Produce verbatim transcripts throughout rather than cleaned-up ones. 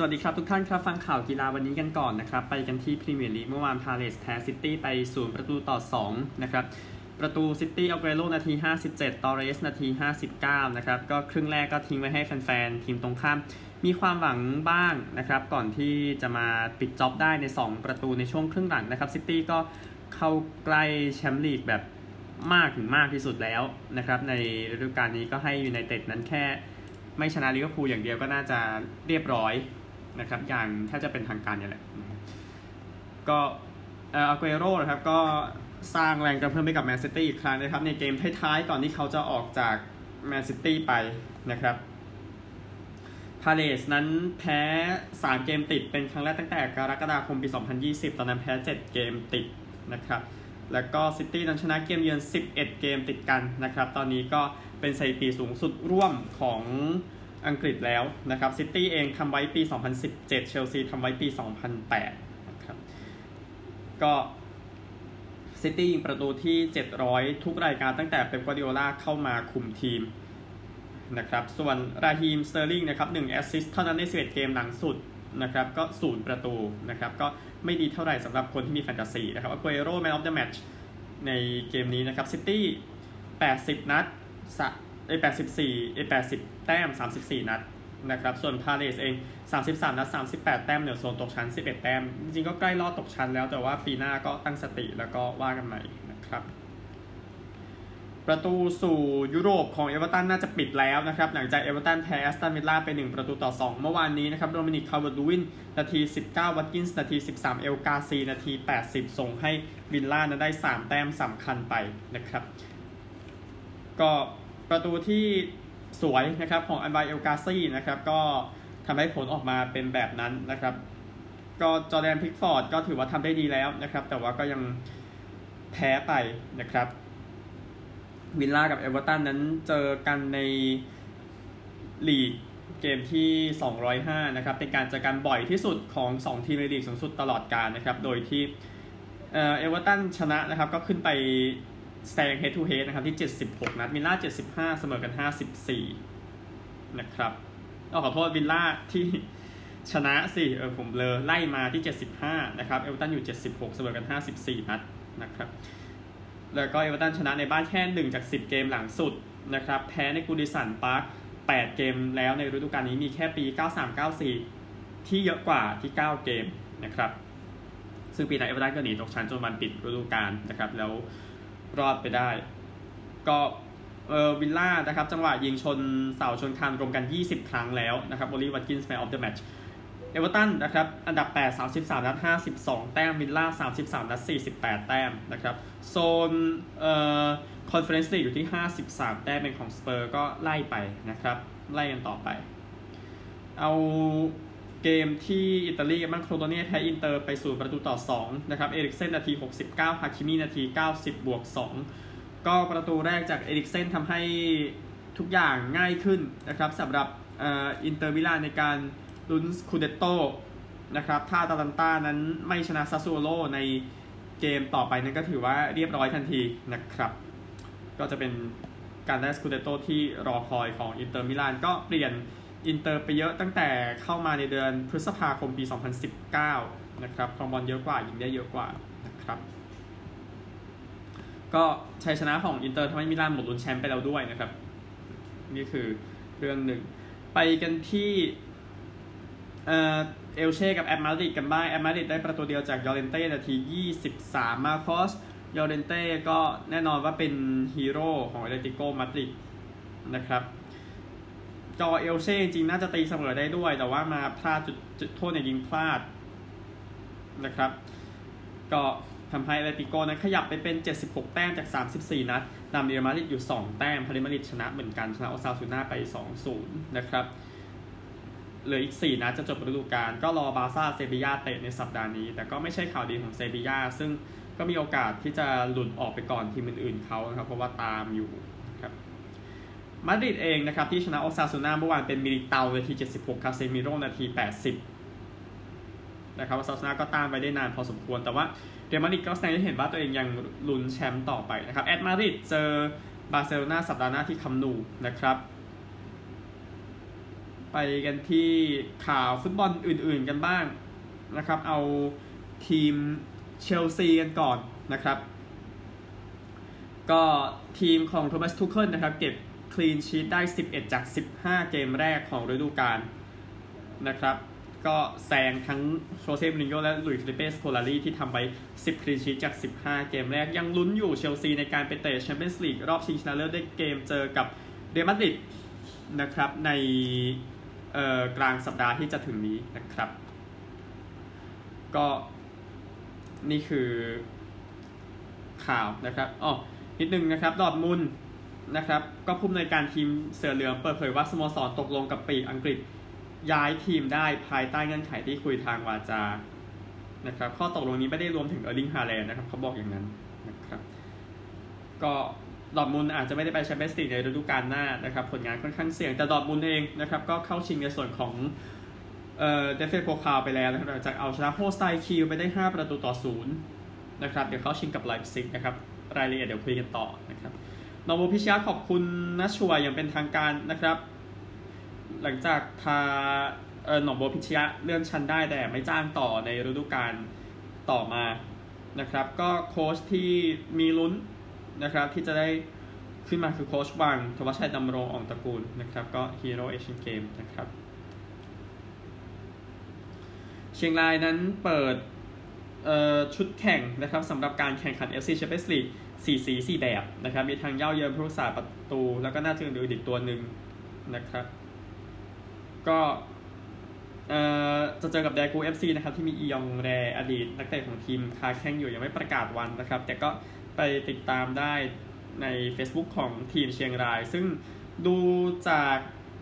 สวัสดีครับทุกท่านครับฟังข่าวกีฬาวันนี้กันก่อนนะครับไปกันที่พรีเมียร์ลีกเมื่อวานพาเลสแพ้ซิตี้ไปศูนย์ประตูต่อสองนะครับประตูซิตี้อัลเกรโรนาทีห้าสิบเจ็ดตอเรสนาทีห้าสิบเก้านะครับก็ครึ่งแรกก็ทิ้งไว้ให้แฟนๆทีมตรงข้ามมีความหวังบ้างนะครับก่อนที่จะมาปิดจ็อบได้ในสองประตูในช่วงครึ่งหลังนะครับซิตี้ก็เข้าใกล้แชมป์ลีกแบบมากถึงมากที่สุดแล้วนะครับในฤดูกาลนี้ก็ให้ยูไนเต็ดนั้นแค่ไม่ชนะลิเวอร์พูลอย่างเดียวก็น่าจะเรียบร้อยนะครับอย่างถ้าจะเป็นทางการนี่แหละก็เอ่ออาเกโร่นะครับก็สร้างแรงกระเพื่อมให้กับแมนซิตี้อีกครั้งนะครับในเกมท้ายๆก่อนที่เขาจะออกจากแมนซิตี้ไปนะครับพาเลสนั้นแพ้สามเกมติดเป็นครั้งแรกตั้งแต่กรกฎาคมปีสองพันยี่สิบตอนนั้นแพ้เจ็ดเกมติดนะครับแล้วก็ซิตี้นั้นชนะเกมเยือนสิบเอ็ดเกมติดกันนะครับตอนนี้ก็เป็นสถิติสูงสุดร่วมของอังกฤษแล้วนะครับซิตี้เองทำไว้ปีสองพันสิบเจ็ดเชลซีทำไว้ปีสองพันแปดนะครับก็ซิตี้ยิงประตูที่เจ็ดร้อยทุกรายการตั้งแต่เป๊ป กวาร์ดิโอลาเข้ามาคุมทีมนะครับส่วนราฮีมสเตอร์ลิงนะครับหนึ่งแอสซิสต์เท่านั้นในสิบเอ็ดเกมหลังสุดนะครับก็ศูนย์ประตูนะครับก็ไม่ดีเท่าไหร่สำหรับคนที่มีแฟนตาซีนะครับอาเกโร่แมนออฟเดอะแมตช์ในเกมนี้นะครับซิตี้แปดสิบนัดไอ้แปดสิบสี่ไอ้แปดสิบแต้มสามสิบสี่นัดนะครับส่วนพาเลสเองสามสิบสามนัดสามสิบแปดแต้มเหนือโซนตกชั้นสิบเอ็ดแต้มจริงๆก็ใกล้รอดตกชั้นแล้วแต่ว่าปีหน้าก็ตั้งสติแล้วก็ว่ากันใหม่นะครับประตูสู่ยุโรปของเอเวอร์ตันน่าจะปิดแล้วนะครับหลังจากเอเวอร์ตันแพ้แอสตันวิลล่าไปหนึ่งประตูต่อสองเมื่อวานนี้นะครับโดมินิก คาร์เวอร์ตลูวินนาทีสิบเก้าวัตกินส์นาทีสิบสามเอลกาซีนาทีแปดสิบส่งให้วิลล่านั้นได้สามแต้มสำคัญไปนะครับก็ประตูที่สวยนะครับของอันบายเอลกาซีนะครับก็ทำให้ผลออกมาเป็นแบบนั้นนะครับก็จอร์แดนพิกฟอร์ดก็ถือว่าทำได้ดีแล้วนะครับแต่ว่าก็ยังแพ้ไปนะครับวิลล่ากับเอเวอร์ตันนั้นเจอกันในลีกเกมที่สองร้อยห้านะครับเป็นการเจอกันบ่อยที่สุดของสองทีมในลีกสูงสุดตลอดกาลนะครับโดยที่เอ่อเอเวอร์ตันชนะนะครับก็ขึ้นไปแซง head to head นะครับที่เจ็ดสิบหกนัดวิลล่าเจ็ดสิบห้าเสมอกันห้าสิบสี่นะครับเอาขอโทษวิลล่าที่ชนะสิเออผมเลอไล่มาที่เจ็ดสิบห้านะครับเอเวอร์ตันอยู่เจ็ดสิบหกเสมอกันห้าสิบสี่นัดนะครับแล้วก็เอเวอร์ตันชนะในบ้านแค่หนึ่งจากสิบเกมหลังสุดนะครับแพ้ในกูดิสันพาร์คแปดเกมแล้วในฤดูกาลนี้มีแค่ปีเก้าสาม เก้าสี่ที่เยอะกว่าที่เก้าเกมนะครับซึ่งปีนั้นเอเวอร์ตันก็หนีตกชั้นจนวันปิดฤดูกาลนะครับแล้วรอดไปได้ก็เออวิลล่านะครับจังหวะยิงชนเสาชนคานรวมกันยี่สิบครั้งแล้วนะครับโอลีวัตกินส์แมนออฟเดอะแมตช์เอเวอร์ตันนะครับอันดับแปด สามสิบสามนัดห้าสิบสองแต้มวิลล่าสามสิบสามนัดสี่สิบแปดแต้มนะครับโซนเอ่อคอนเฟอเรนซ์ลีกอยู่ที่ห้าสิบสามแต้มเป็นของสเปอร์ก็ไล่ไปนะครับไล่กันต่อไปเอาเกมที่อิตาลีมันโครโตเน่แพ้อินเตอร์ไปสู่ประตูต่อสองนะครับเอริกเซนนาทีหกสิบเก้าฮาคิมินาทีเก้าสิบบวกสองก็ประตูแรกจากเอริกเซนทำให้ทุกอย่างง่ายขึ้นนะครับสำหรับเอ่ออินเตอร์มิลานในการลุ้นสคูเดตโต้นะครับถ้าตาลันต้านั้นไม่ชนะซาซูโอโร่ในเกมต่อไปนั้นก็ถือว่าเรียบร้อยทันทีนะครับก็จะเป็นการได้สคูเดตโต้ที่รอคอยของอินเตอร์มิลานก็เปลี่ยนอินเตอร์ไปเยอะตั้งแต่เข้ามาในเดือนพฤษภาคมปีสองพันสิบเก้านะครับครองบอลเยอะกว่ายิงได้เยอะกว่านะครับก็ชัยชนะของอินเตอร์ทำให้มิลานหมดลุ้นแชมป์ไปแล้วด้วยนะครับนี่คือเรื่องหนึ่งไปกันที่เอ่อเอลเช่กับแอตมาดริดกันบ้างแอตมาดริดได้ประตูเดียวจากยอร์เรนเต้นาทียี่สิบสามมาคอสยอร์เรนเต้ก็แน่นอนว่าเป็นฮีโร่ของแอตเลติโกมาดริดนะครับจอเอลเช่จริงน่าจะตีเสมอได้ด้วยแต่ว่ามาพลาดจุดจุดโทษเนี่ยยิงพลาดนะครับก็ทำให้แอตเลติโกนั้นขยับไปเป็นเจ็ดสิบหกแต้มจากสามสิบสี่นัดนำเรอัลมาดริดอยู่สองแต้มพาริมาดริดชนะเหมือนกันชนะโอซาซูน่าไป สองศูนย์ นะครับเหลืออีกสี่นัดจะจบฤดูกาลก็รอบาร์ซ่าเซบีย่าเตะในสัปดาห์นี้แต่ก็ไม่ใช่ข่าวดีของเซบีย่าซึ่งก็มีโอกาสที่จะหลุดออกไปก่อนทีมอื่นๆเขานะครับเพราะว่าตามอยู่ครับมาดริดเองนะครับที่ชนะโอซาซูน่าเมื่อวานเป็นมิลิเตานาทีเจ็ดสิบหกคาเซมิโร่นาทีแปดสิบนะครับโอซาซูน่าก็ตามไปได้นานพอสมควรแต่ว่าเรอัลมาดริดก็แสดงให้เห็นว่าตัวเองยังลุ้นแชมป์ต่อไปนะครับแอตมาดริดเจอบาร์เซโลนาสัปดาห์หน้าที่คัมป์นูนะครับไปกันที่ข่าวฟุตบอลอื่นๆกันบ้างนะครับเอาทีมเชลซีกันก่อนนะครับก็ทีมของโทมัส ทูเคิลนะครับเก็บคลีนชีทได้สิบเอ็ดจากสิบห้าเกมแรกของฤดูกาลนะครับก็แซงทั้งโชเซ่ มูรินโญ่และหลุยส์ ฟิลิเป้ สโคลารีที่ทำไว้สิบคลีนชีทจากสิบห้าเกมแรกยังลุ้นอยู่เชลซีในการไปเตะแชมเปี้ยนส์ลีกรอบชิงชนะเลิศได้เกมเจอกับเรอัลมาดริดนะครับในกลางสัปดาห์ที่จะถึงนี้นะครับก็นี่คือข่าวนะครับอ๋อนิดนึงนะครับดอร์ทมุนด์นะครับก็ผู้อำนวยการทีมเสือเหลืองเปิดเผยว่าสโมสรตกลงกับปีกอังกฤษย้ายทีมได้ภายใต้เงื่อนไขที่คุยทางวาจานะครับข้อตกลงนี้ไม่ได้รวมถึงเออร์ลิง ฮาแลนด์นะครับเขาบอกอย่างนั้นนะครับก็ดอร์ทมุนด์อาจจะไม่ได้ไปแชมเปี้ยนส์ลีกในฤดูกาลหน้านะครับผลงานค่อนข้างเสี่ยงแต่ดอร์ทมุนด์เองนะครับก็เข้าชิงในส่วนของเอ่อเดฟเฟนโพคาลไปแล้วนะครับหลังจากเอาชนะโฮสไตคิวไปได้ห้าประตูต่อศูนย์นะครับเดี๋ยวเข้าชิงกับไลป์ซิกนะครับรายละเอียดเดี๋ยวคุยกันต่อนะครับนอร์โวพิชยาขอบคุณนัชชัวอย่างเป็นทางการนะครับหลังจากพาเอ่อหนองบัวพิชยาเลื่อนชั้นได้แต่ไม่จ้างต่อในฤดูกาลต่อมานะครับก็โค้ชที่มีลุ้นนะครับที่จะได้ขึ้นมาคือโค้ชวังทวัชชัยดำรงอ่องตระกูลนะครับก็ฮีโร่เอเชียนเกมนะครับเชียงรายนั้นเปิดชุดแข่งนะครับสำหรับการแข่งขัน เอฟ ซี Champions League สี่สีสี่แบบนะครับมีทางเย่าเยินผู้รักษาประตูแล้วก็น่าจะอื่นอีกตัวหนึ่งนะครับก็จะเจอกับแดกู เอฟ ซี นะครับที่มีอียองแรอดีตนักเตะของทีมคาแข่งอยู่ยังไม่ประกาศวันนะครับแต่ก็ไปติดตามได้ใน Facebook ของทีมเชียงรายซึ่งดูจาก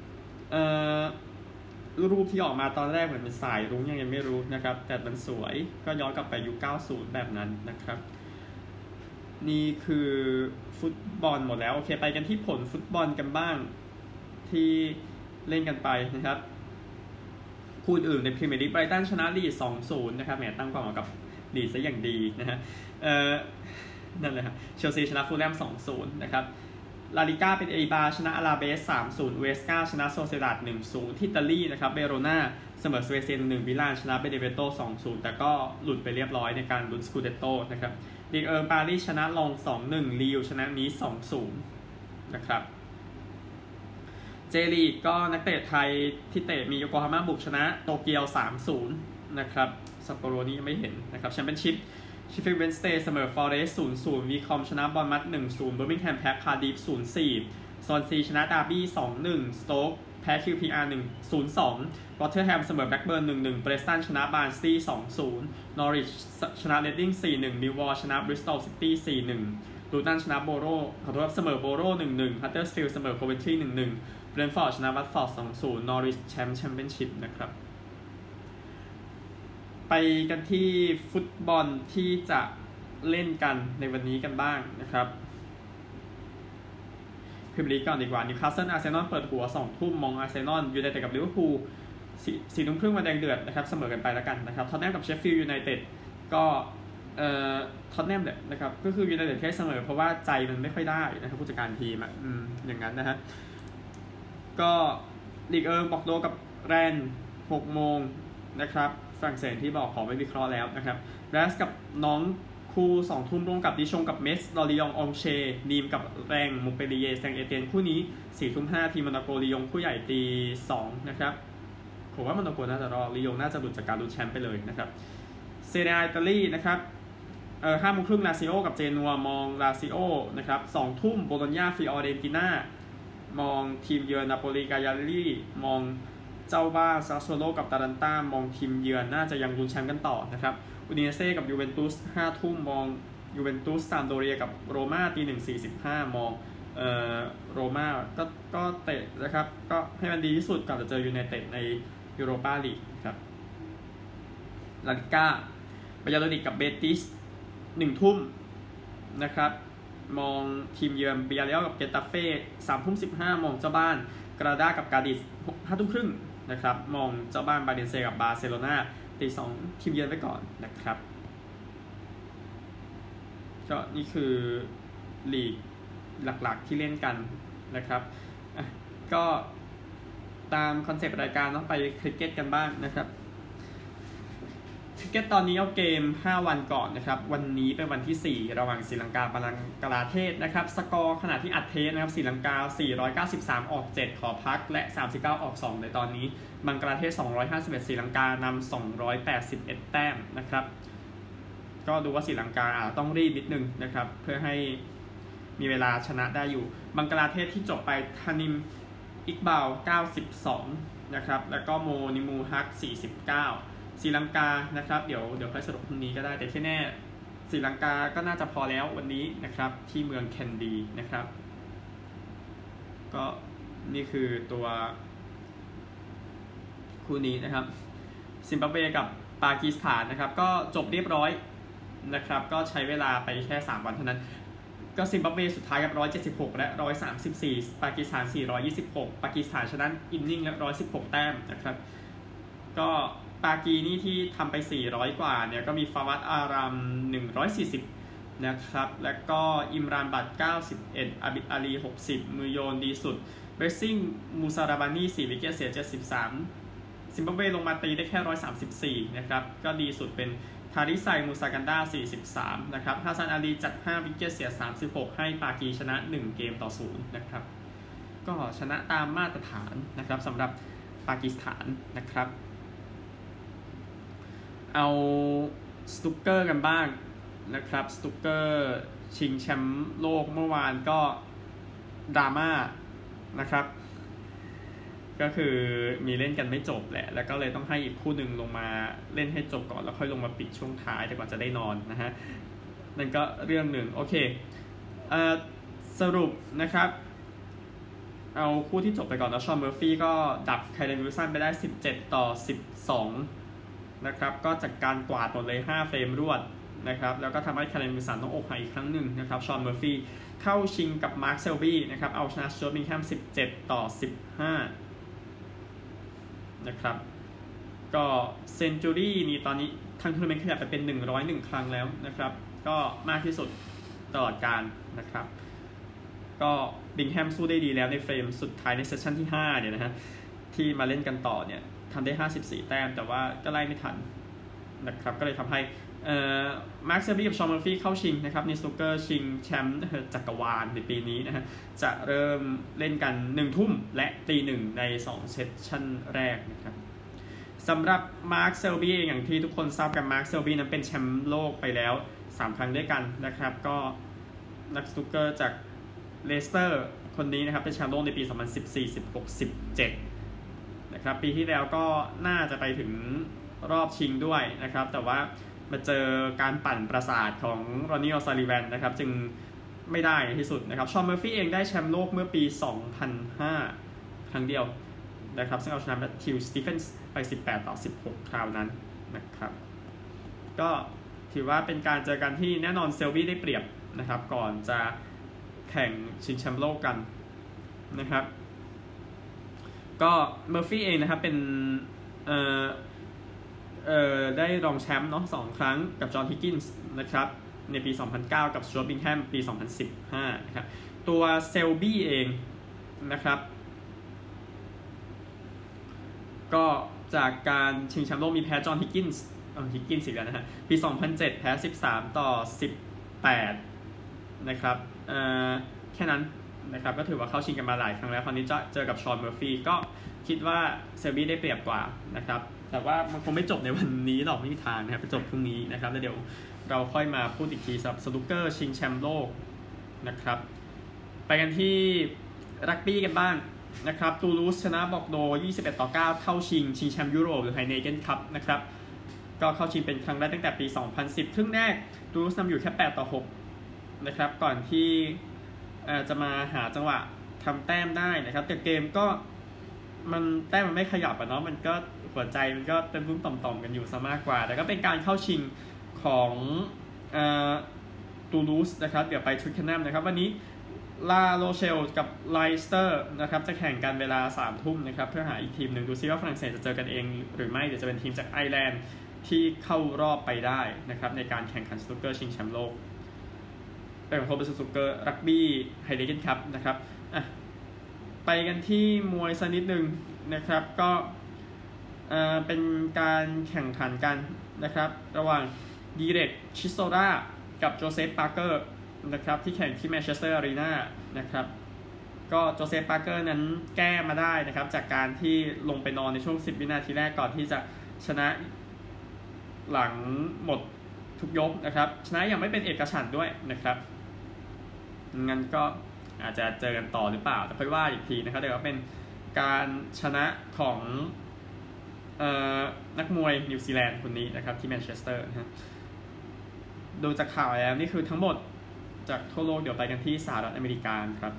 รูปที่ออกมาตอนแรกเหมือนเป็นสายรุ้งยังยังไม่รู้นะครับแต่มันสวยก็ย้อนกลับไปยุคเก้าสิบแบบนั้นนะครับนี่คือฟุตบอลหมดแล้วโอเคไปกันที่ผลฟุตบอลกันบ้างที่เล่นกันไปนะครับคู่อื่นในพรีเมียร์ลีกไบรตันชนะลีด สองศูนย์ นะครับแหมตั้งกองกับลีดซะอย่างดีนะฮะเอ่อนั่นแหละครับเชลซีชนะฟูลแลม สองศูนย์ นะครับลาลิก้าเป็นเอบาชนะอาราเบส สามศูนย์ เวสกาชนะโซเซดาด หนึ่งศูนย์ ที่อิตาลีนะครับเบโรนาเสมอสเวเซีย หนึ่งหนึ่ง มิลานชนะเบเนเวโต สองศูนย์ แต่ก็หลุดไปเรียบร้อยในการลุ้นสกูเดโตนะครับลีกเอิร์ปารีสชนะลอง สองหนึ่ง ลีลชนะนีส สองศูนย์ นะครับเจลีกก็นักเตะไทยที่เตะมีโยโกฮาม่าบุกชนะโตเกียว สามศูนย์ นะครับซัปโปโรนี่ยังไม่เห็นนะครับแชมเปี้ยนชิพชิฟฟิลด์ เวนสเดย์เสมอฟอเรสต์ ศูนย์ศูนย์ วีคอมชนะบอลมัด หนึ่งศูนย์ เบอร์มิงแฮมแพ้คาร์ดิฟ ศูนย์สี่ ซอนซีชนะดาร์บี้ สองหนึ่ง สโต๊กแพ้ คิว พี อาร์ หนึ่ง ศูนย์สอง รอตเทอร์แฮมเสมอแบล็กเบิร์น หนึ่งหนึ่ง เบรสตันชนะบาร์นซีย์ สองศูนย์ นอริชชนะเรดดิ้ง สี่หนึ่ง มิลวอลชนะบริสตอลซิตี้ สี่หนึ่ง ลูตันชนะโบโรขอโทษเสมอโบโร หนึ่งหนึ่ง ฮัตเตอร์สฟิลด์เสมอโคเวนทรี หนึ่งหนึ่ง เบรนท์ฟอร์ดชนะวัตฟอร์ด สองศูนย์ นอริชแชมป์แชมเปี้ยนชิพนะครับไปกันที่ฟุตบอลที่จะเล่นกันในวันนี้กันบ้างนะครับพรีเมียร์ลีกก่อนดีกว่านิวคาสเซิลอาร์เซนอลเปิดหัวสองทุ่มมองอาร์เซนอลยูไนเต็ดกับลิเวอร์พูลสี่ทุ่มครึ่งมาแดงเดือดนะครับเสมอกันไปแล้วกันนะครับท็อตแนมกับเชฟฟิลด์ยูไนเต็ดก็เอ่อท็อตแนมเนี่ยนะครับก็คือยูไนเต็ดแค่เสมอเพราะว่าใจมันไม่ค่อยได้นะครับผู้จัดการทีมอ่ะอืมอย่างนั้นนะฮะก็ลีกเอิงบอกโดกับแรนหกโมงนะครับฝรั่งเศสที่บอกขอไม่วิเคราะห์แล้วนะครับแรสกับน้องคู่สองทุ่มร่วมกับดิชงกับเมสลอริยององเชนีมกับแรงมูเปรีเยแซงเอเตียนคู่นี้สี่ทุ่มห้าทีมมอนโกลียงคู่ใหญ่ตีสองนะครับผมว่ามอนโกน่าจะรอลียงน่าจะหลุดจากการลุ้นแชมป์ไปเลยนะครับเซเรียอิตาลีนะครับเอ่อห้าโมงครึ่งลาซิโอกับเจนัวมองลาซิโอนะครับสองทุ่มโบโลญญาฟิออเรนติน่ามองทีมเยือนนาโปลีกายาลีมองเจ้าบ้านซาสโซโลกับตาลันต้ามองทีมเยือนน่าจะยังลุ้นแชมป์กันต่อนะครับอูดิเนเซ่กับยูเวนตุสห้าทุ่มมองยูเวนตุสซามโดเรียกับโรม่าตีหนึ่งสี่สิบห้ามองเอ่อโรม่าก็ก็เตะนะครับก็ให้มันดีที่สุดก่อนจะเจอยูไนเต็ดในยูโรปาลีกครับลาลิก้าบาญาโดนิกกับเบติสหนึ่งทุ่มนะครับมองทีมเยือนเบียร์เรอัลกับเกตาเฟ่สามทุ่มสิบห้ามองเจ้าบ้านกราดากับกาดิสห้าทุ่มครึ่งนะครับมองเจ้าบ้านบาเลนเซียกับบาร์เซโลนาตีสองทีมเยือนไว้ก่อนนะครับก็นี่คือลีกหลักๆที่เล่นกันนะครับก็ตามคอนเซปต์รายการต้องไปคริกเก็ตกันบ้างนะครับคริกเก็ตตอนนี้เอาเกมห้าวันก่อนนะครับวันนี้เป็นวันที่สี่ระหว่างศรีลังกาบังกลาเทศนะครับสกอร์ขณะที่อัดเทสนะครับศรีลังกาสี่ร้อยเก้าสิบสามออกเจ็ดขอพักและสามสิบเก้าออกสองในตอนนี้บังกลาเทศสองร้อยห้าสิบเอ็ดศรีลังกานำสองร้อยแปดสิบเอ็ดแต้มนะครับก็ดูว่าศรีลังกาอาจต้องรีบนิดนึงนะครับเพื่อให้มีเวลาชนะได้อยู่บังกลาเทศที่จบไปทานิมอิกบาวเก้าสิบสองนะครับแล้วก็โมนิมูฮักสี่สิบเก้าศรีลังกานะครับเดี๋ยวเดี๋ยวค่อยสรุปพรุ่งนี้ก็ได้แต่ที่แน่ศรีลังกาก็น่าจะพอแล้ววันนี้นะครับที่เมืองแคนดีนะครับก็นี่คือตัวคู่นี้นะครับซิมบับเวกับปากีสถานนะครับก็จบเรียบร้อยนะครับก็ใช้เวลาไปแค่สามวันเท่านั้นก็ซิมบับเวสุดท้ายกับหนึ่งร้อยเจ็ดสิบหกและหนึ่งร้อยสามสิบสี่ปากีสถานสี่ร้อยยี่สิบหกปากีสถานชนะอินนิ่งและหนึ่งร้อยสิบหกแต้มนะครับก็ปากีนี่ที่ทำไปสี่ร้อยกว่าเนี่ยก็มีฟาวัดอารามหนึ่งร้อยสี่สิบนะครับแล้วก็อิมรานบัตเก้าสิบเอ็ดอาบิดอาลีหกสิบมือโยนดีสุดเรซซิ่งมูซาราบานีสี่วิกเก็ตเสียเจ็ดสิบสามซิมบับเวลงมาตีได้แค่หนึ่งร้อยสามสิบสี่นะครับก็ดีสุดเป็นทาริไซมูซากันดาสี่สิบสามนะครับฮาซันอาลีจัดห้าวิกเก็ตเสียสามสิบหกให้ปากีชนะหนึ่งเกมต่อศูนย์นะครับก็ชนะตามมาตรฐานนะครับสำหรับปากีสถานนะครับเอาสตุกเกอร์กันบ้างนะครับสตุกเกอร์ชิงแชมป์โลกเมื่อวานก็ดราม่านะครับก็คือมีเล่นกันไม่จบแหละแล้วก็เลยต้องให้อีกคู่หนึ่งลงมาเล่นให้จบก่อนแล้วค่อยลงมาปิดช่วงท้ายแต่กว่าจะได้นอนนะฮะนั่นก็เรื่องหนึ่งโอเคเอ่อสรุปนะครับเอาคู่ที่จบไปก่อนแล้วชอนเมอร์ฟี่ก็ดับไคลเลนวิลสันไปได้สิบเจ็ดต่อสิบสองนะครับก็จากการกวาดหมดเลยห้าเฟรมรวดนะครับแล้วก็ทำให้ไคลเลนวิลสันต้องอกหักอีกครั้งหนึ่งนะครับชอนเมอร์ฟี่เข้าชิงกับมาร์คเซลบี้นะครับเอาชนะสจ๊วตบิงแฮมสิบเจ็ดต่อสิบห้านะครับก็เซนจูรี่นี่ตอนนี้ทางทัวร์นาเมนต์ขยับไปเป็นหนึ่งร้อยเอ็ดครั้งแล้วนะครับก็มากที่สุดตลอดกาลนะครับก็บิงแฮมสู้ได้ดีแล้วในเฟรมสุดท้ายในเซสชั่นที่ห้าเนี่ยนะฮะที่มาเล่นกันต่อเนี่ยทำได้ห้าสิบสี่แต้มแต่ว่าก็ไล่ไม่ทันนะครับก็เลยทำให้เอ่อมาร์คเซลบี้กับชอนเมอร์ฟี่เข้าชิงนะครับในสนุกเกอร์ชิงแชมป์จักรวาลในปีนี้นะฮะจะเริ่มเล่นกันหนึ่งทุ่มและตีหนึ่งในสองเซสชั่นแรกนะครับสำหรับมาร์คเซลบี้อย่างที่ทุกคนทราบกันมาร์คเซลบี้นั้นเป็นแชมป์โลกไปแล้วสามครั้งด้วยกันนะครับก็นักสนุกเกอร์จากเลสเตอร์คนนี้นะครับเป็นแชมป์โลกในปีสองพันสิบสี่ สิบหก สิบเจ็ดนะครับปีที่แล้วก็น่าจะไปถึงรอบชิงด้วยนะครับแต่ว่ามาเจอการปั่นประสาทของรอนนี่ ออซาลิแวนนะครับจึงไม่ได้ที่สุดนะครับชอนเมอร์ฟี่เองได้แชมป์โลกเมื่อปีสองพันห้าครั้งเดียวนะครับซึ่งเอาชนะแมทธิวสตีเฟนส์ไปสิบแปดต่อสิบหกคราวนั้นนะครับก็ถือว่าเป็นการเจอกันที่แน่นอนเซลบี้ได้เปรียบนะครับก่อนจะแข่งชิงแชมป์โลกกันนะครับก็เมอร์ฟี่เองนะครับเป็นเอ่อเอ่อได้รองแชมป์เนาะสองครั้งกับจอห์นฮิกกินส์นะครับในปีสองพันเก้ากับสจ๊วตบิงแฮมปีสองพันสิบห้านะครับตัวเซลบี้เองนะครับก็จากการชิงแชมป์โลกมีแพ้จอห์นฮิกกินส์เอ่อฮิกกินส์อีกแล้วนะฮะปีสองพันเจ็ดแพ้สิบสามต่อสิบแปดนะครับเอ่อแค่นั้นนะครับก็ถือว่าเข้าชิงกันมาหลายครั้งแล้วคราวนี้จะเจอกับชอนเมอร์ฟี่ก็คิดว่าเซลบี้ได้เปรียบกว่านะครับแต่ว่ามันคงไม่จบในวันนี้หรอกไม่มีทางนะครับไปจบพรุ่งนี้นะครับแล้วเดี๋ยวเราค่อยมาพูดอีกทีสำหรับสนุกเกอร์ชิงแชมป์โลกนะครับไปกันที่รักบี้กันบ้างนะครับตูลูสชนะบอกโดยี่สิบเอ็ดต่อเก้าเข้าชิงชิงแชมป์ยุโรปหรือไฮเนเกนคัพนะครับก็เข้าชิงเป็นครั้งแรกตั้งแต่ปีสองพันสิบครึ่งแรกตูลูสนำอยู่แค่แปดต่อหกนะครับก่อนที่จะมาหาจังหวะทำแต้มได้นะครับแต่เกมก็มันแต้มมันไม่ขยับอ่ะเนาะมันก็หัวใจมันก็เต็มรุ่มต่อมๆกันอยู่ซะมากกว่าแต่ก็เป็นการเข้าชิงของตูลูสนะครับเดี๋ยวไปทูตแคนแนมนะครับวันนี้ลาโรเชลกับไลสเตอร์นะครับจะแข่งกันเวลาสามทุ่มนะครับเพื่อหาอีกทีมหนึ่งดูซิว่าฝรั่งเศสจะเจอกันเองหรือไม่เดี๋ยวจะเป็นทีมจากไอร์แลนด์ที่เข้ารอบไปได้นะครับในการแข่งขันสนุกเกอร์ชิงแชมป์โลกเป็นของโทเบสสนุกเกอร์รักบี้ไฮเดเกนคัพนะครับอ่ะไปกันที่มวยสักนิดนึงนะครับก็เอ่อเป็นการแข่งขันกันนะครับระหว่างดีเร็กชิโซรากับโจเซฟปาร์เกอร์นะครับที่แข่งที่แมนเชสเตอร์อารีนานะครับก็โจเซฟปาร์เกอร์นั้นแก้มาได้นะครับจากการที่ลงไปนอนในช่วงสิบวินาทีแรกก่อนที่จะชนะหลังหมดทุกยกนะครับชนะอย่างไม่เป็นเอกฉันท์ด้วยนะครับงั้นก็อาจจะเจอกันต่อหรือเปล่าแต่ค่อยว่าอีกทีนะครับแต่ว่าเป็นการชนะของเอ่อนักมวยนิวซีแลนด์คนนี้นะครับที่แมนเชสเตอร์นะดูจากข่าวแล้วนี่คือทั้งหมดจากทั่วโลกเดี๋ยวไปกันที่สหรัฐอเมริกาครับ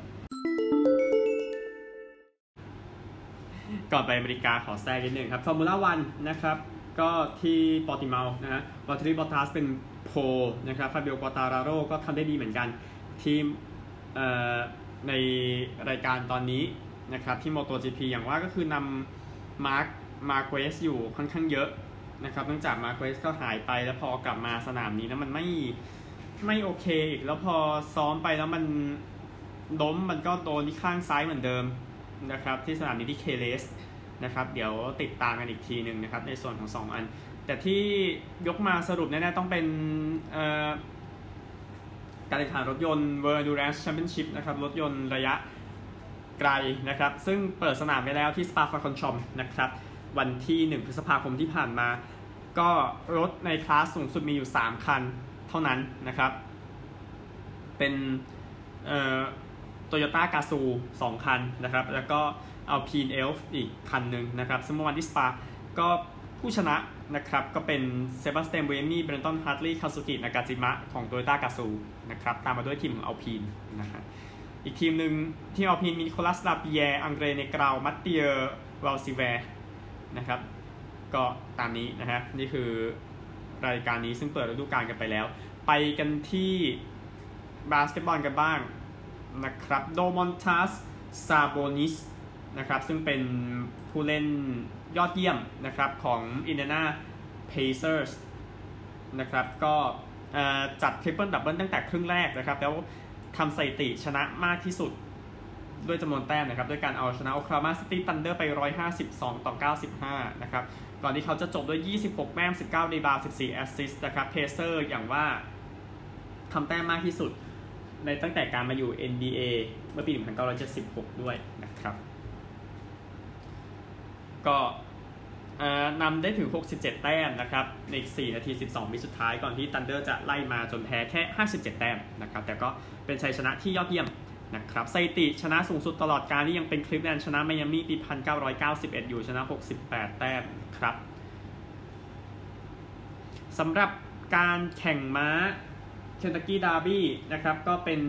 ก่อนไปอเมริกาขอแทรกนิดนึงครับฟอร์มูล่าวันนะครับก็ที่ปอร์ติเมานะฮะวอลเทอรี่บอตตัสเป็นโพลนะครับฟาบิโอ ควอตาราโร่ก็ทำได้ดีเหมือนกันทีมในรายการตอนนี้นะครับที่ MotoGP อย่างว่าก็คือนำมาร์คมาร์เกสอยู่ค่อนข้างเยอะนะครับเนื่องจากมาร์เกสก็หายไปแล้วพอกลับมาสนามนี้นะมันไม่ไม่โอเคอีกแล้วพอซ้อมไปแล้วมันล้มมันก็โดนที่ข้างซ้ายเหมือนเดิมนะครับที่สนามนี้ที่เคเลสนะครับเดี๋ยวติดตามกันอีกทีหนึ่งนะครับในส่วนของสองอันแต่ที่ยกมาสรุปแน่ๆต้องเป็นการแข่งขันรถยนต์ World Endurance Championship นะครับรถยนต์ระยะไกลนะครับซึ่งเปิดสนามไปแล้วที่ Spa-Francorchamps นะครับวันที่หนึ่งพฤษภาคมที่ผ่านมาก็รถในคลาสสูงสุดมีอยู่สามคันเท่านั้นนะครับเป็นเอ่อ Toyota Gazoo สองคันนะครับแล้วก็ Alpine Elf อีกคันหนึ่งนะครับซึ่งเมื่อวันที่ Spa ก็ผู้ชนะนะครับก็เป็นเซบาสเตียน เบรมี่ เบรนตัน ฮาร์ทลีย์ คาซุกิ นากาจิมะของ Toyota Gazoo นะครับตามมาด้วยทีมของ Alpine นะครับอีกทีมหนึ่งทีม Alpine มีนิโคลัส ลาปิแยร์ อังเดร เนกราว มัตเตียร์ วาลซิแวร์นะครับก็ตามนี้นะฮะนี่คือรายการนี้ซึ่งเปิดฤดูกาลกันไปแล้วไปกันที่บาสเกตบอลกันบ้างนะครับโดมอนตัส ซาโบนิสนะครับซึ่งเป็นผู้เล่นยอดเยี่ยมนะครับของ Indiana Pacers นะครับก็จัดทริปเปิลดับเบิลตั้งแต่ครึ่งแรกนะครับแล้วทำสถิติชนะมากที่สุดด้วยจำนวนแต้มนะครับด้วยการเอาชนะ Oklahoma City Thunder ไปหนึ่งร้อยห้าสิบสองต่อเก้าสิบห้านะครับก่อนที่เขาจะจบด้วยยี่สิบหกแต้มสิบเก้ารีบาวด์สิบสี่แอสซิสต์นะครับ Pacer อย่างว่าทำแต้มมากที่สุดในตั้งแต่การมาอยู่ เอ็น บี เอ เมื่อปีหนึ่งพันเก้าร้อยเจ็ดสิบหกด้วยนะครับก็นำได้ถึงหกสิบเจ็ดแต้มนะครับในสี่นาทีสิบสองวิสุดท้ายก่อนที่ Thunder จะไล่มาจนแพ้แค่ห้าสิบเจ็ดแต้มนะครับแต่ก็เป็นชัยชนะที่ยอดเยี่ยมนะครับสถิติชนะสูงสุดตลอดการที่ยังเป็นคลิฟแลนด์ชนะไมอามี่ปีหนึ่งพันเก้าร้อยเก้าสิบเอ็ดอยู่ชนะหกสิบแปดแต้มครับสำหรับการแข่งม้า Kentucky Derby นะครับก็เป็น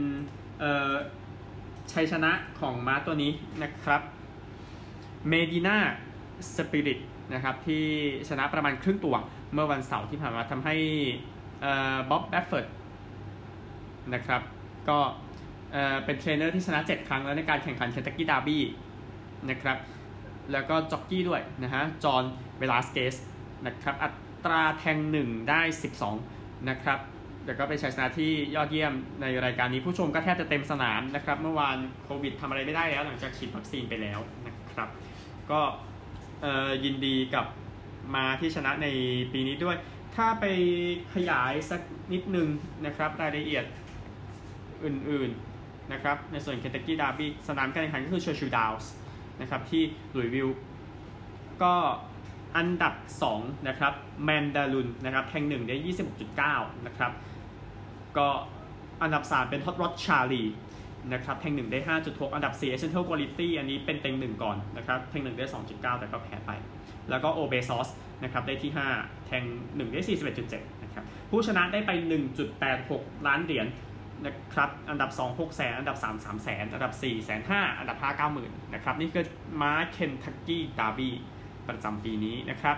ชัยชนะของม้าตัวนี้นะครับ Medina Spirit นะครับที่ชนะประมาณครึ่งตัวเมื่อวันเสาร์ที่ผ่านมาทำให้บ๊อบแบฟเฟิร์ดนะครับก็เอ่อเป็นเทรนเนอร์ที่ชนะเจ็ดครั้งแล้วในการแข่งขัน Kentucky Derby นะครับแล้วก็จ็อกกี้ด้วยนะฮะจอห์นเวลาสเกสนะครับอัตราแทงหนึ่งได้สิบสองนะครับแต่ก็เป็นชัยชนะที่ยอดเยี่ยมในรายการนี้ผู้ชมก็แทบจะเต็มสนามนะครับเมื่อวานโควิดทำอะไรไม่ได้แล้วหลังจากฉีดวัคซีนไปแล้วนะครับก็เอ่อยินดีกับมาที่ชนะในปีนี้ด้วยถ้าไปขยายสักนิดนึงนะครับรายละเอียดอื่นๆนะครับในส่วน Kentucky Derby สนามการแข่งขันก็คือ Churchill Downs นะครับที่หลุยส์วิลล์ก็อันดับสองนะครับแมนดาลุนนะครับแทงหนึ่งได้ ยี่สิบหกจุดเก้า นะครับก็อันดับสามเป็น Hot Rod Charlie นะครับแทงหนึ่งได้ ห้าจุดหก อันดับสี่ Essential Quality อันนี้เป็นเต็งหนึ่งก่อนนะครับแทงหนึ่งได้ สองจุดเก้า แต่ก็แพ้ไปแล้วก็ Obesos นะครับได้ที่ห้าแทงหนึ่งได้ สี่สิบเอ็ดจุดเจ็ด นะครับผู้ชนะได้ไป หนึ่งจุดแปดหก ล้านเหรียญนะครับอันดับสอง หกแสนอันดับสาม สามแสนอันดับสี่ แสนห้าอันดับห้า เก้าหมื่นนะครับนี่คือม้า Kentucky Derby ประจำปีนี้นะครับ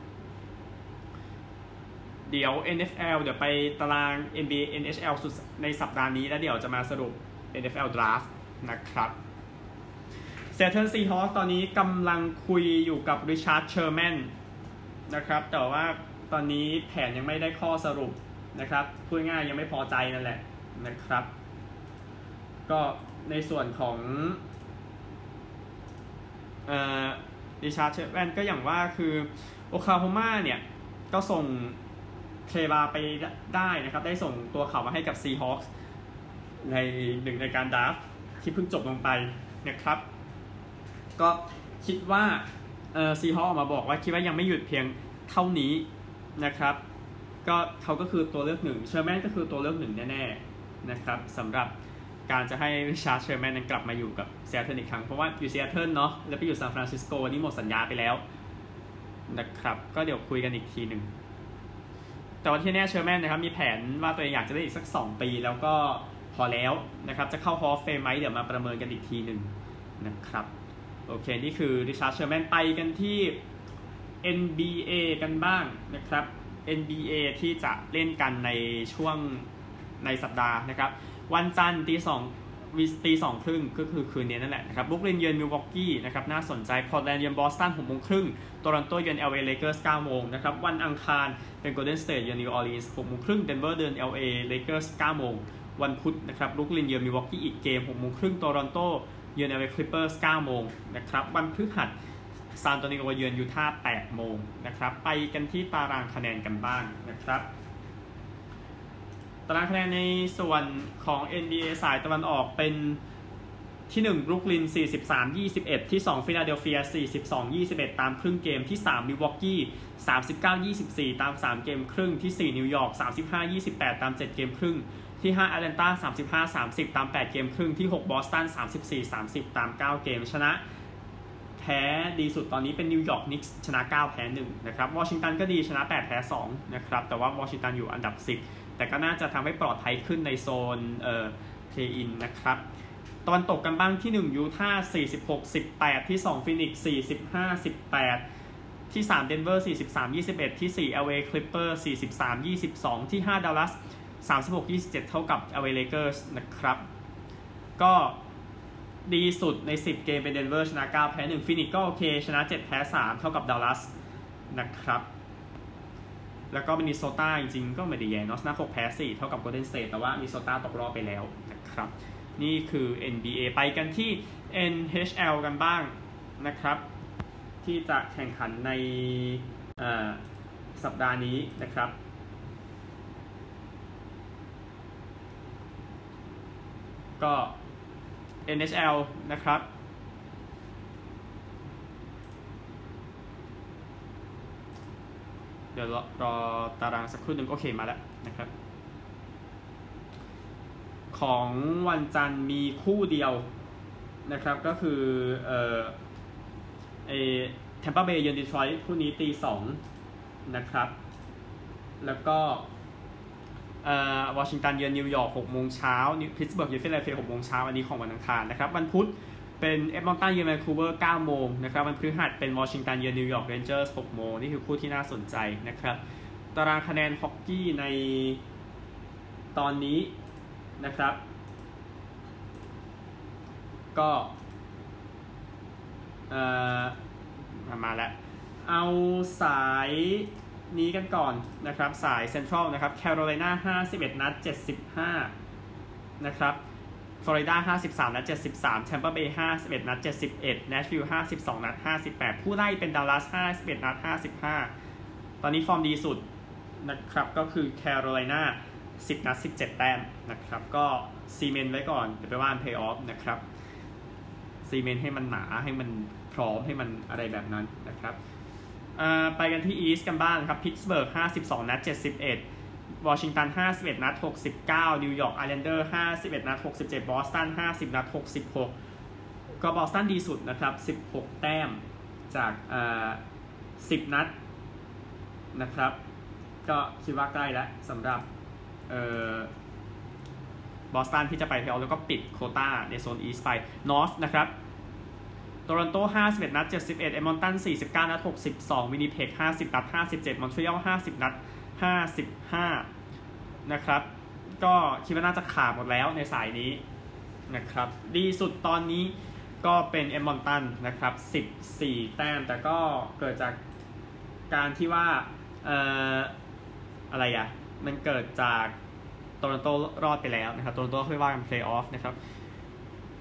เดี๋ยว เอ็น เอฟ แอล เดี๋ยวไปตาราง เอ็น บี เอ เอ็น เอช แอล สุดในสัปดาห์นี้แล้วเดี๋ยวจะมาสรุป เอ็น เอฟ แอล Draft นะครับ Seattle Seahawks ตอนนี้กำลังคุยอยู่กับ Richard Sherman นะครับแต่ว่าตอนนี้แผนยังไม่ได้ข้อสรุปนะครับพูดง่ายยังไม่พอใจนั่นแหละนะครับก็ในส่วนของเอ่อริชาร์ดเชฟแมนก็อย่างว่าคือโอคลาโฮมาเนี่ยก็ส่งเทรบาไปได้นะครับได้ส่งตัวเขามาให้กับซีฮอคส์ในหนึ่งในการดราฟต์ที่เพิ่งจบลงไปนะครับก็คิดว่าเอ่อซีฮอคส์ออกมาบอกว่าคิดว่ายังไม่หยุดเพียงเท่านี้นะครับก็เขาก็คือตัวเลือกหนึ่งเชอร์แมนก็คือตัวเลือกหนึ่งแน่ๆนะครับสำหรับการจะให้ริชาร์ดเชอร์แมนนั้นกลับมาอยู่กับซีแอตเทิลอีกครั้งเพราะว่าอยู่ซีแอตเทิลเนาะแล้วไปอยู่ซานฟรานซิสโกนี่หมดสัญญาไปแล้วนะครับก็เดี๋ยวคุยกันอีกทีหนึ่งแต่ว่าที่แน่เชอร์แมนนะครับมีแผนว่าตัวเองอยากจะได้อีกสักสองปีแล้วก็พอแล้วนะครับจะเข้าฮอลล์เฟมไหมเดี๋ยวมาประเมินกันอีกทีหนึ่งนะครับโอเคนี่คือริชาร์ดเชอร์แมนไปกันที่ เอ็น บี เอ กันบ้างนะครับ เอ็น บี เอ ที่จะเล่นกันในช่วงในสัปดาห์นะครับวันจันทร์ตีสองวิสตีสองครึ่งก็คือคืนนี้นั่นแหละนะครับบรุกลินเยือนมิลวอกกี้นะครับน่าสนใจพอร์ตแลนด์เยือนบอสตันหกโมงครึ่งโตรอนโตเยือน แอล เอ Lakers เก้าโมงนะครับวันอังคารเป็น Golden State เยือน New Orleans หกโมงครึ่งเดนเวอร์เยือน แอล เอ Lakers เก้าโมงวันพุธนะครับบรุกลินเยือนมิลวอกกี้อีกเกมหกโมงครึ่งโตรอนโตเยือน แอล เอ Clippers เก้าโมงนะครับวันพฤหัสซานโตนิโอเยือนยูทาห์แปดโมงนะครับไปกันที่ตารางคะแนนกันบ้างนะครับตารางคะแนนในส่วนของ เอ็น บี เอ สายตะวันออกเป็นที่หนึ่งบรุกลินสี่สิบสามยี่สิบเอ็ดที่สองฟิลาเดลเฟียสี่สิบสองยี่สิบเอ็ดตามครึ่งเกมที่สามมิลวอกกี้สามสิบเก้ายี่สิบสี่ตามสามเกมครึ่งที่สี่นิวยอร์กสามสิบห้ายี่สิบแปดตามเจ็ดเกมครึ่งที่ห้าแอตแลนตาสามสิบห้าสามสิบตามแปดเกมครึ่งที่หกบอสตันสามสิบสี่สามสิบตามเก้าเกมชนะแพ้ดีสุดตอนนี้เป็นนิวยอร์กนิกส์ชนะเก้าแพ้หนึ่งนะครับวอชิงตันก็ดีชนะแปดแพ้สองนะครับแต่ว่าวอชิงตันอยู่อันดับสิบแต่ก็น่าจะทำให้ปลอดภัยขึ้นในโซนเอ่อเพลย์อินนะครับตะวันตกกันบ้างที่หนึ่งยูทาห์สี่สิบหกสิบแปดที่สองฟินิกซ์สี่สิบห้าสิบแปดที่สามเดนเวอร์สี่สิบสามยี่สิบเอ็ดที่สี่ แอล เอ Clippers สี่สิบสามยี่สิบสองที่ห้าดัลลัสสามสิบหกยี่สิบเจ็ดเท่ากับ แอล เอ Lakers นะครับก็ดีสุดในสิบเกมเป็นเดนเวอร์ชนะเก้าแพ้หนึ่งฟินิกซ์ก็โอเคชนะเจ็ดแพ้สามเท่ากับดัลลัสนะครับแล้วก็มินนิโซตาจริงๆก็ไม่ได้แย่เนาะชนะหกแพ้สี่เท่ากับโกลเด้นสเตทแต่ว่ามินนิโซตาตกรอบไปแล้วนะครับนี่คือ เอ็น บี เอ ไปกันที่ เอ็น เอช แอล กันบ้างนะครับที่จะแข่งขันในสัปดาห์นี้นะครับก็ เอ็น เอช แอล นะครับเดี๋ยวรอรอตารางสักครู่หนึ่งโอเคมาแล้วนะครับของวันจันทร์มีคู่เดียวนะครับก็คือเอ่อเอแทมปาเบย์เยือนดีทรอยต์คู่นี้ตีสองนะครับแล้วก็เอ่อวอชิงตันเยือนนิวยอร์กหกโมงเช้าพิตต์สเบิร์กเยือนฟิลาเดลเฟียหกโมงเช้าอันนี้ของวันอังคารนะครับวันพุธเป็นเอดมอนตันเยือนแวนคูเวอร์เก้าโมงนะครับวันพฤหัสเป็นวอชิงตันเยือนนิวยอร์กเรนเจอร์สหกโมงนี่คือคู่ที่น่าสนใจนะครับตารางคะแนนฮอกกี้ในตอนนี้นะครับก็เอ่อมาแล้วเอาสายนี้กันก่อนนะครับสายเซ็นทรัลนะครับแคโรไลนาห้าสิบเอ็ดนัดเจ็ดสิบห้านะครับฟลอริดาห้าสิบสามนัดเจ็ดสิบสามแทมปาเบย์ห้าสิบเอ็ดนัดเจ็ดสิบเอ็ดแนชวิลล์ห้าสิบสองนัดห้าสิบแปดผู้ไล่เป็นดัลลัสห้าสิบเอ็ดนัดห้าสิบห้าตอนนี้ฟอร์มดีสุดนะครับก็คือแคโรไลนาสิบนัดสิบเจ็ดแต้มนะครับก็ซีเมนต์ไว้ก่อนเดี๋ยวไปว่าเพลย์ออฟนะครับซีเมนต์ให้มันหนาให้มันพร้อมให้มันอะไรแบบนั้นนะครับไปกันที่อีสต์กันบ้างครับพิตต์สเบิร์กห้าสิบสองนัดเจ็ดสิบเอ็ดวอชิงตันห้าสิบเอ็ดนัดหกสิบเก้านิวยอร์กไอแลนเดอร์ห้าสิบเอ็ดนัดหกสิบเจ็ดบอสตันห้าสิบนัดหกสิบหกก็บอสตันดีสุดนะครับสิบหกแต้มจากอ่าสิบนัดนะครับก็คิดว่าใกล้แล้วสำหรับเอ่อบอสตันที่จะไปเพลย์ออฟแล้วก็ปิดโควต้าในโซนอีสต์ไปนอร์ทนะครับโตรอนโตห้าสิบเอ็ดนัดเจ็ดสิบเอ็ดเอดมอนตันสี่สิบเก้านัดหกสิบสองวินนิเพกห้าสิบนัดห้าสิบเจ็ดมอนทรีออลห้าสิบนัดห้าสิบห้านะครับก็คิดว่าน่าจะขาดหมดแล้วในสายนี้นะครับดีสุดตอนนี้ก็เป็นเอดมอนตันนะครับสิบสี่แต้มแต่ก็เกิดจากการที่ว่าเอ่ออะไรอ่ะมันเกิดจากโตรอนโตรอดไปแล้วนะครับโตรอนโตค่อยว่ากันเพลย์ออฟนะครับ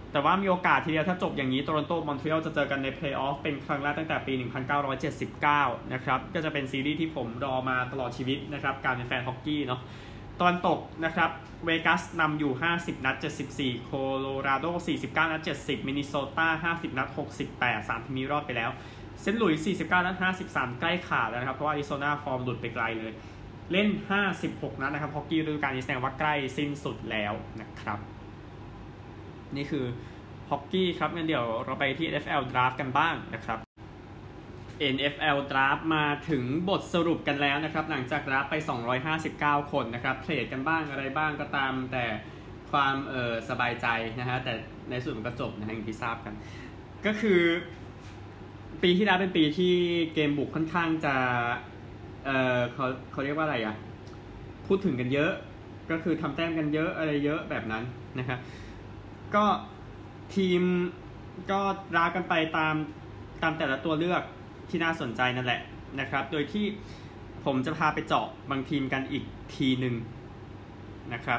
แต่ว่ามีโอกาสทีเดียวถ้าจบอย่างนี้โตรอนโตมอนทรีออลจะเจอกันในเพลย์ออฟเป็นครั้งแรกตั้งแต่ปีหนึ่งพันเก้าร้อยเจ็ดสิบเก้านะครับก็จะเป็นซีรีส์ที่ผมรอมาตลอดชีวิตนะครับการเป็นแฟนฮอกกี้เนาะตอนตกนะครับเวกัสนำอยู่ห้าสิบนัดเจ็ดสิบสี่โคโลราโดสี่สิบเก้านัดเจ็ดสิบมินนิโซตาห้าสิบนัดหกสิบแปด สามทีมนี้รอดไปแล้วเซนต์หลุยส์สี่สิบเก้านัดห้าสิบสามใกล้ขาดแล้วนะครับเพราะว่าอาริโซนาฟอร์มหลุดไปไกลเลยเล่นห้าสิบหกนัดนะครับฮอกกี้ฤดูกาลนี้แสดงว่าใกล้สิ้นสุดแล้วนะครับนี่คือฮอกกี้ครับงั้นเดี๋ยวเราไปที่ เอ็น เอฟ แอล Draft กันบ้างนะครับ เอ็น เอฟ แอล Draft มาถึงบทสรุปกันแล้วนะครับหลังจาก Draft ไปสองร้อยห้าสิบเก้าคนนะครับเทรดกันบ้างอะไรบ้างก็ตามแต่ความเออสบายใจนะฮะแต่ในสุดมันก็จบนะฮะอย่างที่ทราบกันก็คือปีที่แล้วเป็นปีที่เกมบุกค่อนข้างจะเออเขาเขาเรียกว่าอะไรอ่ะพูดถึงกันเยอะก็คือทำแต้มกันเยอะอะไรเยอะแบบนั้นนะครับก็ทีมก็รากันไปตามตามแต่ละตัวเลือกที่น่าสนใจนั่นแหละนะครับโดยที่ผมจะพาไปเจาะบางทีมกันอีกทีหนึ่งนะครับ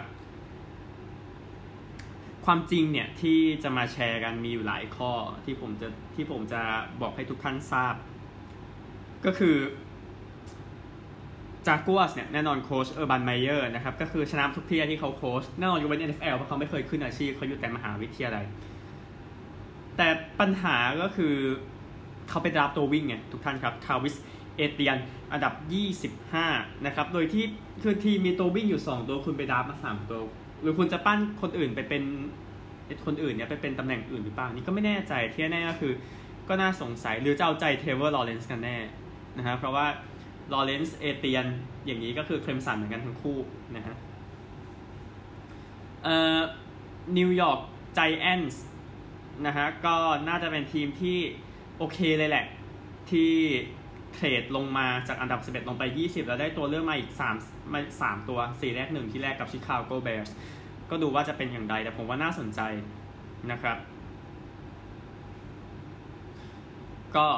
ความจริงเนี่ยที่จะมาแชร์กันมีอยู่หลายข้อที่ผมจะที่ผมจะบอกให้ทุกท่านทราบก็คือจากัวสเนี่ยแน่นอนโค้ชเออร์บันไมเยอร์นะครับก็คือชนะทุกที่ที่เขาโค้ชแน่นอนยกเว้น เอ็น เอฟ แอล เพราะเขาไม่เคยขึ้นอาชีพเขาอยู่แต่มหาวิทยาลัยแต่ปัญหาก็คือเขาไปดราฟตัววิ่งไงทุกท่านครับทาวิสเอเตียนอันดับยี่สิบห้านะครับโดยที่คือทีมมีตัววิ่งอยู่สองตัวคุณไปดราฟมาสามตัวหรือคุณจะปั้นคนอื่นไปเป็นคนอื่นเนี่ยไปเป็นตำแหน่งอื่นหรือเปล่านี่ก็ไม่แน่ใจที่แน่ก็คือก็น่าสงสัยหรือจะเอาใจเทเวอร์ลอเรนซ์กันแน่นะฮะเพราะว่าลอเรนซ์เอเตียนอย่างนี้ก็คือเคลมสันเหมือนกันทั้งคู่นะฮะเอ่อนิวยอร์กไจแอนท์นะฮะก็น่าจะเป็นทีมที่โอเคเลยแหละที่เทรดลงมาจากอันดับสิบเอ็ดลงไปยี่สิบแล้วได้ตัวเลือกมาอีกสามมาสามตัวสี่แรกหนึ่งที่แรกกับชิคาโกแบร์สก็ดูว่าจะเป็นอย่างไรแต่ผมว่าน่าสนใจนะครับก็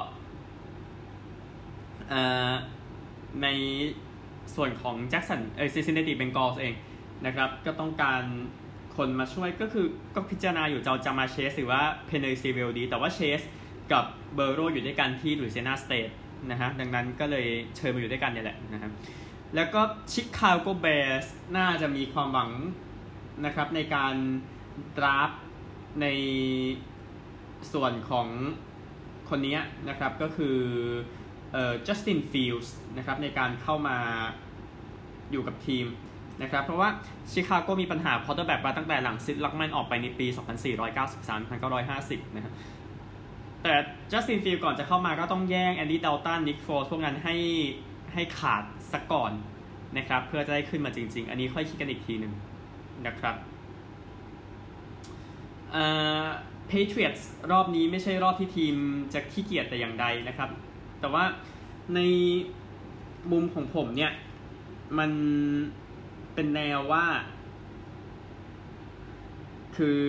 เอ่อในส่วนของแจ็คสันเออซินซินเนติเบงกอลส์เองนะครับก็ต้องการคนมาช่วยก็คือก็พิจารณาอยู่จะจะมาเชสหรือว่าเพเนซิเวลดีแต่ว่าเชสกับเบอร์โรอยู่ด้วยกันที่ลุยเซียนาสเตทนะฮะดังนั้นก็เลยเชิญมาอยู่ด้วยกันเนี่ยแหละนะครับแล้วก็ชิคาโกแบร์สน่าจะมีความหวังนะครับในการดราฟในส่วนของคนนี้นะครับก็คือเอ่อจัสตินฟิลส์นะครับในการเข้ามาอยู่กับทีมนะครับเพราะว่าชิคาโกมีปัญหาพอตเตอร์แบ็กมาตั้งแต่หลังซิดล็อกแมนออกไปในปีสองพันสี่ร้อยเก้าสิบสาม หนึ่งพันเก้าร้อยห้าสิบนะครับแต่จัสตินฟิลส์ก่อนจะเข้ามาก็ต้องแย่งแอนดี้ดัลตันนิกโฟลส์พวกนั้นให้ให้ขาดสักก่อนนะครับเพื่อจะได้ขึ้นมาจริงๆอันนี้ค่อยคิดกันอีกทีหนึ่งนะครับเอ่อ Patriots รอบนี้ไม่ใช่รอบที่ทีมจะขี้เกียจแต่อย่างใดนะครับแต่ว่าในมุมของผมเนี่ยมันเป็นแนวว่าคือ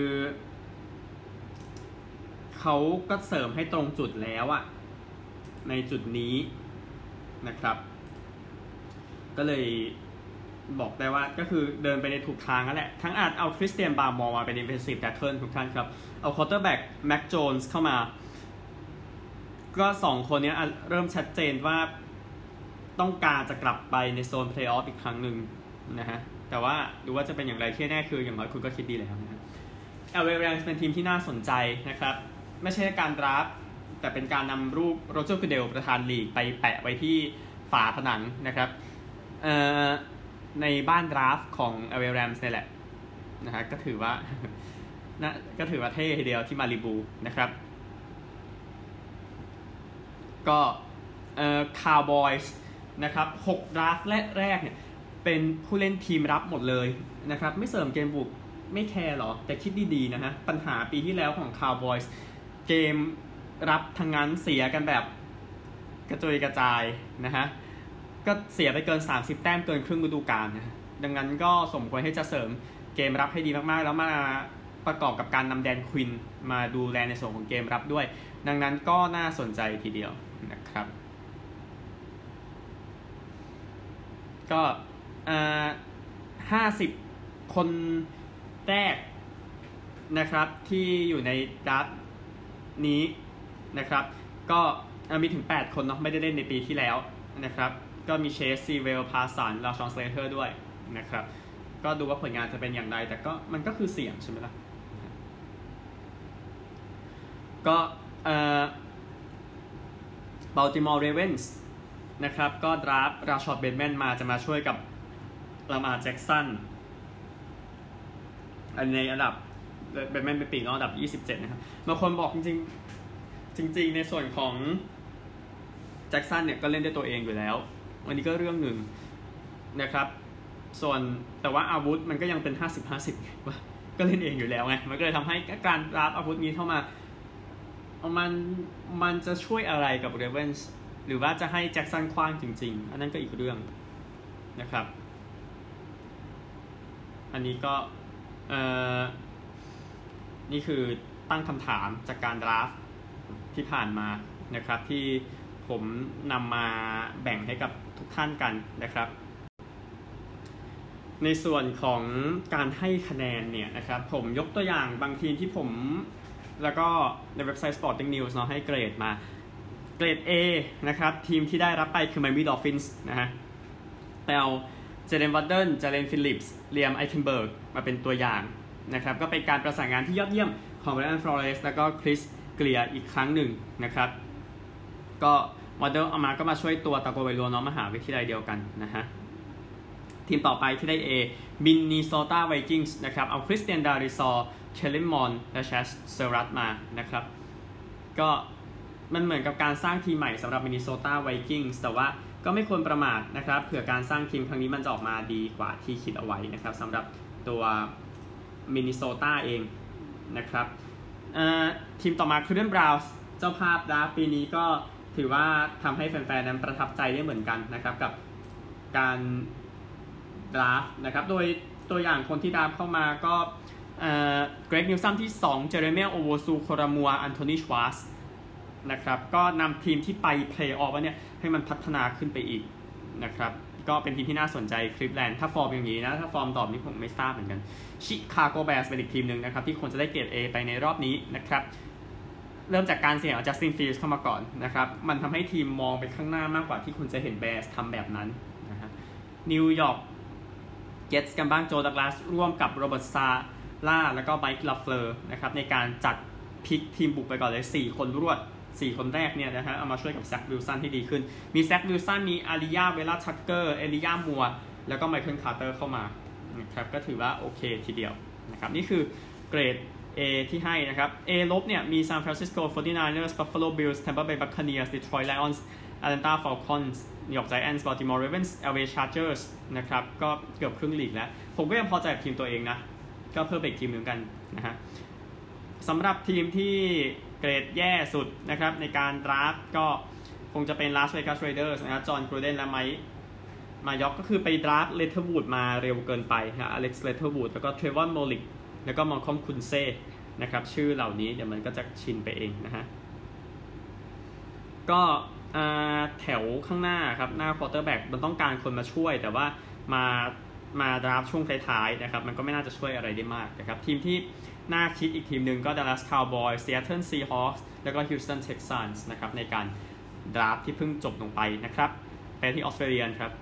เขาก็เสริมให้ตรงจุดแล้วอะในจุดนี้นะครับก็เลยบอกได้ว่าก็คือเดินไปในถูกทางนั่นแหละทั้งอาจเอาคริสเตียนบาร์มอร์มาเป็น defensive tackle ทุกท่านครับเอา quarterback แม็กโจนส์เข้ามาก็สองคนนี้เริ่มชัดเจนว่าต้องการจะกลับไปในโซน playoff อีกครั้งหนึ่งนะฮะแต่ว่าดูว่าจะเป็นอย่างไรที่แน่คืออย่างน้อยคุณก็คิดดีแล้วนะ แอล เอ Rams เป็นทีมที่น่าสนใจนะครับไม่ใช่การดราฟแต่เป็นการนำรูปโรเจอร์ กูเดลประธานลีกไปแปะไว้ที่ฝาผนังนะครับเอ่อในบ้านดราฟของ แอล เอ Rams นี่แหละนะฮะก็ถือว่านะก็ถือว่าเท่ทีเดียวที่มาริบูนะครับก็เอ่อคาวบอยส์นะครับหกดราฟแรกเนี่ยเป็นผู้เล่นทีมรับหมดเลยนะครับไม่เสริมเกมบุกไม่แคร์หรอแต่คิดดีๆนะฮะปัญหาปีที่แล้วของคาวบอยส์เกมรับทั้งนั้นเสียกันแบบกระจุยกระจายนะฮะก็เสียไปเกินสามสิบแต้มเกินครึ่งฤดูกาลนะดังนั้นก็สมควรให้จะเสริมเกมรับให้ดีมากๆแล้วมาประกอบกับการนำแดนควินมาดูแลในส่วนของเกมรับด้วยดังนั้นก็น่าสนใจทีเดียวนะครับก็อ่าห้าสิบคนแรกนะครับที่อยู่ในดราฟต์นี้นะครับก็มีถึงแปดคนเนาะไม่ได้เล่นในปีที่แล้วนะครับก็มีเชสซีเวลพาสันลาชอนสเลเทอร์ด้วยนะครับก็ดูว่าผลงานจะเป็นอย่างไรแต่ก็มันก็คือเสี่ยงใช่ไหมล่ะก็เอ่อ Baltimore Ravens นะครับก็ดราฟต์ราชอดเบนแมนมาจะมาช่วยกับลามาร์แจ็กสันอันในอันดับเบนแมนเป็นปีกนอกอันดับยี่สิบเจ็ดนะครับบางคนบอกจริงๆจริงๆในส่วนของแจ็กสันเนี่ยก็เล่นได้ตัวเองอยู่แล้วอันนี้ก็เรื่องหนึ่งนะครับส่วนแต่ว่าอาวุธมันก็ยังเป็น ห้าสิบ ห้าสิบ ว่าก็เล่นเองอยู่แล้วไงมันก็เลยทำให้การรับอาวุธนี้เข้ามามันมันจะช่วยอะไรกับ Ravens หรือว่าจะให้แจ็คสันคว้างจริงๆอันนั้นก็อีกเรื่องนะครับอันนี้ก็เอ่อนี่คือตั้งคำถามจากการดราฟต์ที่ผ่านมานะครับที่ผมนำมาแบ่งให้กับทุกท่านกันนะครับในส่วนของการให้คะแนนเนี่ยนะครับผมยกตัวอย่างบางทีมที่ผมแล้วก็ในเว็บไซต์ Sporting News เนาะให้เกรดมาเกรด A นะครับทีมที่ได้รับไปคือ Miami Dolphins นะฮะเอาเจเลน วัตเดิล เจเลน ฟิลลิปส์เลียม ไอเทนเบิร์กมาเป็นตัวอย่างนะครับก็เป็นการประสานงานที่ยอดเยี่ยมของ Brian Flores แล้วก็คริสเกลียร์อีกครั้งหนึ่งนะครับก็วัตเดิลเอามาก็มาช่วยตัวตาโกไวโลเนาะมหาวิทยาลัยเดียวกันนะฮะทีมต่อไปที่ได้ A มินนิโซตาไวกิ้งส์นะครับเอาคริสเตียนดาริซอร์เคลลิมอนและแชสเซอรัตมานะครับก็มันเหมือนกับการสร้างทีมใหม่สำหรับมินนิโซตาไวกิ้งส์แต่ว่าก็ไม่ควรประมาทนะครับเผื่อการสร้างทีมครั้งนี้มันจะออกมาดีกว่าที่คิดเอาไว้นะครับสำหรับตัวมินนิโซตาเองนะครับทีมต่อมาคือเดนบราวน์เจ้าภาพดราฟต์ปีนี้ก็ถือว่าทำให้แฟนๆนั้นประทับใจได้เหมือนกันนะครับกับการดราฟต์นะครับโดยตัวอย่างคนที่ดราฟต์เข้ามาก็เกรกนิวซัมที่สองเจเรเมียโอโวซูโครามัวอันโทนีชวาร์สนะครับก็นำทีมที่ไปเพลย์ออฟเนี่ยให้มันพัฒนาขึ้นไปอีกนะครับก็เป็นทีมที่น่าสนใจคลิฟแลนด์ถ้าฟอร์มอย่างนี้นะถ้าฟอร์มตอบนี้ผมไม่ทราบเหมือนกันชิคาโกแบร์สเป็นอีกทีมหนึ่งนะครับที่ควรจะได้เกรด A ไปในรอบนี้นะครับเริ่มจากการเสี่ยงเอาจัสตินฟิลด์เข้ามาก่อนนะครับมันทำให้ทีมมองไปข้างหน้ามากกว่าที่คุณจะเห็นแบร์สทำแบบนั้นนะฮะนิวยอร์กเจ็ตส์กันบ้างโจดักลาสร่วมกับโรเบิร์ตซาล่าแล้วก็ไมค์ลาเฟลอร์นะครับในการจัดพิกทีมบุกไปก่อนเลยสี่คนรวดสี่คนแรกเนี่ยนะฮะเอามาช่วยกับแซควิลสันที่ดีขึ้นมีแซควิลสันมีอาริยาเวล่าชักเกอร์เอลิยามัวแล้วก็ไมเคิลคาร์เตอร์เข้ามานะครับก็ถือว่าโอเคทีเดียวนะครับนี่คือเกรด A ที่ให้นะครับ A ลบเนี่ยมี San Francisco ฟอร์ตี้ไนเนอร์ส Buffalo Bills Tampa Bay Buccaneers Detroit Lions Atlanta Falcons New York Giants Baltimore Ravens แอล เอ Chargers นะครับก็เกือบครึ่งลีกแล้วผมก็ยังพอใจกับทีมตัวเองนะก็เพิ่มอีกทีมหนึ่งกันนะฮะสำหรับทีมที่เกรดแย่สุดนะครับในการดราฟต์ก็คงจะเป็น Las Vegas Raiders นะครับจอห์นกรูเดนและไมค์มายอกก็คือไปดราฟต์เลเทอร์วูดมาเร็วเกินไปฮะอเล็กซ์เลเทอร์วูดแล้วก็เทรวอนโมลิกแล้วก็มอลคอมคุนเซ่นะครับชื่อเหล่านี้เดี๋ยวมันก็จะชินไปเองนะฮะก็แถวข้างหน้าครับหน้าควอเตอร์แบ็กมันต้องการคนมาช่วยแต่ว่ามามาดราฟต์ช่วงท้ายๆนะครับมันก็ไม่น่าจะช่วยอะไรได้มากนะครับทีมที่น่าคิดอีกทีมหนึ่งก็ Dallas Cowboys Seattle Seahawks แล้วก็ Houston Texans นะครับในการดราฟต์ที่เพิ่งจบลงไปนะครับไปที่ออสเตรเลียครับ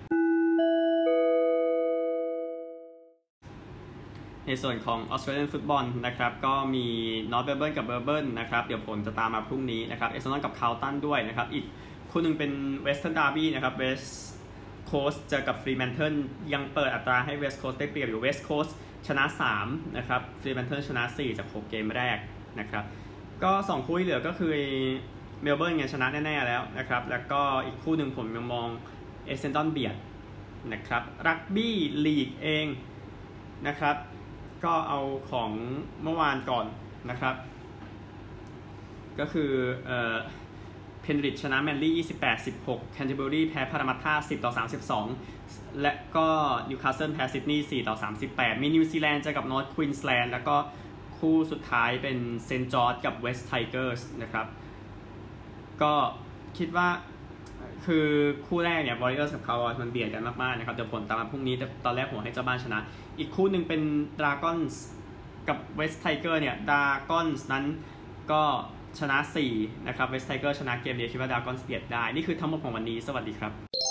ในส่วนของ Australian Football นะครับก็มี North Melbourne กับ Melbourne นะครับเดี๋ยวผลจะตามมาพรุ่งนี้นะครับ Essendon กับ Carlton ด้วยนะครับอีกคู่หนึ่งเป็น Western Derby นะครับ West Coast เจอกับ Fremantle ยังเปิดอัตราให้ West Coast ได้เปรียบอยู่ West Coast ชนะสามนะครับ Fremantle ชนะสี่จากหกเกมแรกนะครับก็สองคู่ที่เหลือก็คือ Melbourne เนี่ยชนะแน่ๆแล้วนะครับแล้วก็อีกคู่หนึ่งผมยังมอง Essendon เบียดนะครับรักบี้ลีกเองนะครับก็เอาของเมื่อวานก่อนนะครับก็คือเอ่อเพนริชชนะแมนลี่ยี่สิบแปด สิบหกแคนเทอร์เบอรีแพ้พารามัตตาสิบต่อสามสิบสองและก็นิวคาสเซิลแพ้ซิดนีย์สี่ต่อสามสิบแปดมีนิวซีแลนด์เจอกับนอร์ทควีนส์แลนด์แล้วก็คู่สุดท้ายเป็นเซนต์จอร์จกับเวสต์ไทเกอร์สนะครับก็คิดว่าคือคู่แรกเนี่ย Warriors กับ Cowboys มันเบียดกันมากๆนะครับเดี๋ยวผลตามมาพรุ่งนี้แต่ตอนแรกผมให้เจ้าบ้านชนะอีกคู่หนึ่งเป็น Dragons กับเวสไทเกอร์เนี่ยดราก้อนส์นั้นก็ชนะสี่นะครับเวสไทเกอร์ชนะเกมเดียวคิดว่าดราก้อนส์เบียดได้นี่คือทั้งหมดของวันนี้สวัสดีครับ